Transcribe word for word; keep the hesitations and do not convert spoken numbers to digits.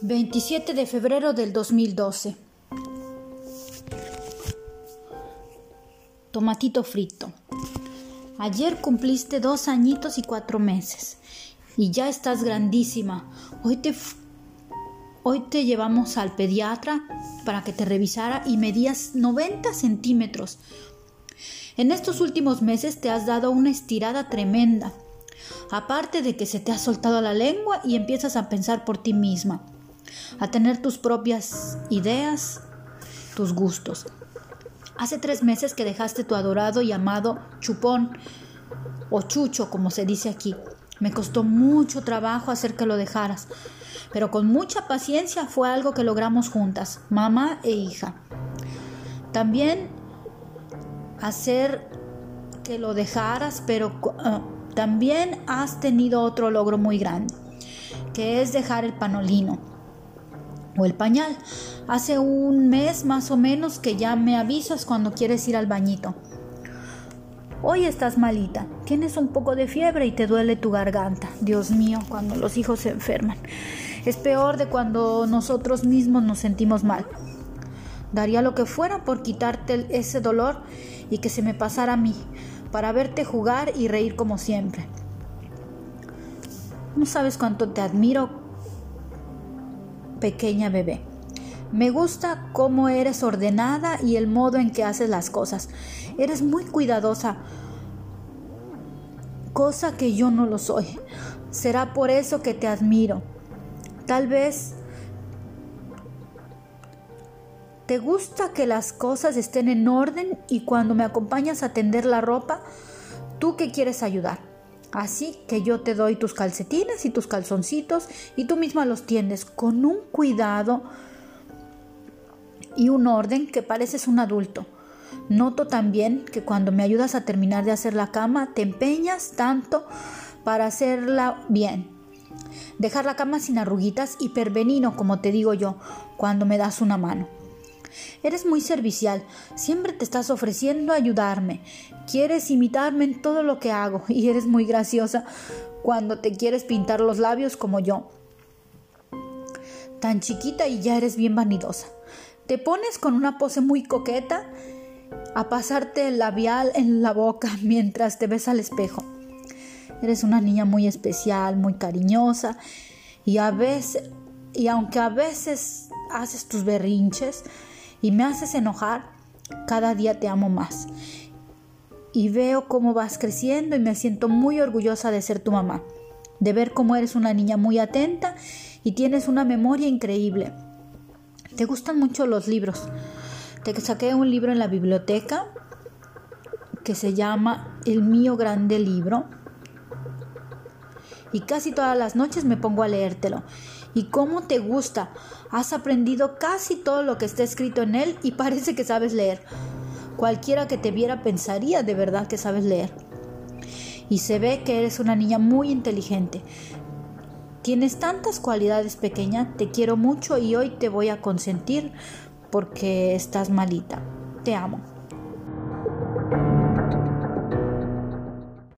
veintisiete de febrero del dos mil doce. Tomatito frito. Ayer cumpliste dos añitos y cuatro meses y ya estás grandísima. Hoy te, hoy te llevamos al pediatra para que te revisara y medías noventa centímetros. En estos últimos meses te has dado una estirada tremenda. Aparte de que se te ha soltado la lengua y empiezas a pensar por ti misma, a tener tus propias ideas, tus gustos. Hace tres meses que dejaste tu adorado y amado chupón, o chucho como se dice aquí. Me costó mucho trabajo hacer que lo dejaras, pero con mucha paciencia fue algo que logramos juntas, mamá e hija. También hacer que lo dejaras, pero uh, también has tenido otro logro muy grande, que es dejar el panolino o el pañal. Hace un mes más o menos que ya me avisas cuando quieres ir al bañito. Hoy estás malita, tienes un poco de fiebre y te duele tu garganta. Dios mío, cuando los hijos se enferman. Es peor de cuando nosotros mismos nos sentimos mal. Daría lo que fuera por quitarte ese dolor y que se me pasara a mí, para verte jugar y reír como siempre. No sabes cuánto te admiro, pequeña bebé. Me gusta cómo eres ordenada y el modo en que haces las cosas. Eres muy cuidadosa, cosa que yo no lo soy. Será por eso que te admiro. Tal vez te gusta que las cosas estén en orden y cuando me acompañas a tender la ropa, tú que quieres ayudar. Así que yo te doy tus calcetines y tus calzoncitos y tú misma los tiendes con un cuidado y un orden que pareces un adulto. Noto también que cuando me ayudas a terminar de hacer la cama, te empeñas tanto para hacerla bien. Dejar la cama sin arruguitas y perbenino, como te digo yo, cuando me das una mano. Eres muy servicial, siempre te estás ofreciendo a ayudarme. Quieres imitarme en todo lo que hago y eres muy graciosa cuando te quieres pintar los labios como yo. Tan chiquita y ya eres bien vanidosa. Te pones con una pose muy coqueta a pasarte el labial en la boca mientras te ves al espejo. Eres una niña muy especial, muy cariñosa y a veces, y aunque a veces haces tus berrinches y me haces enojar, cada día te amo más. Y veo cómo vas creciendo y me siento muy orgullosa de ser tu mamá, de ver cómo eres una niña muy atenta y tienes una memoria increíble. Te gustan mucho los libros. Te saqué un libro en la biblioteca que se llama El mío grande libro y casi todas las noches me pongo a leértelo. ¿Y cómo te gusta? Has aprendido casi todo lo que está escrito en él y parece que sabes leer. Cualquiera que te viera pensaría de verdad que sabes leer. Y se ve que eres una niña muy inteligente. Tienes tantas cualidades, pequeña. Te quiero mucho y hoy te voy a consentir porque estás malita. Te amo.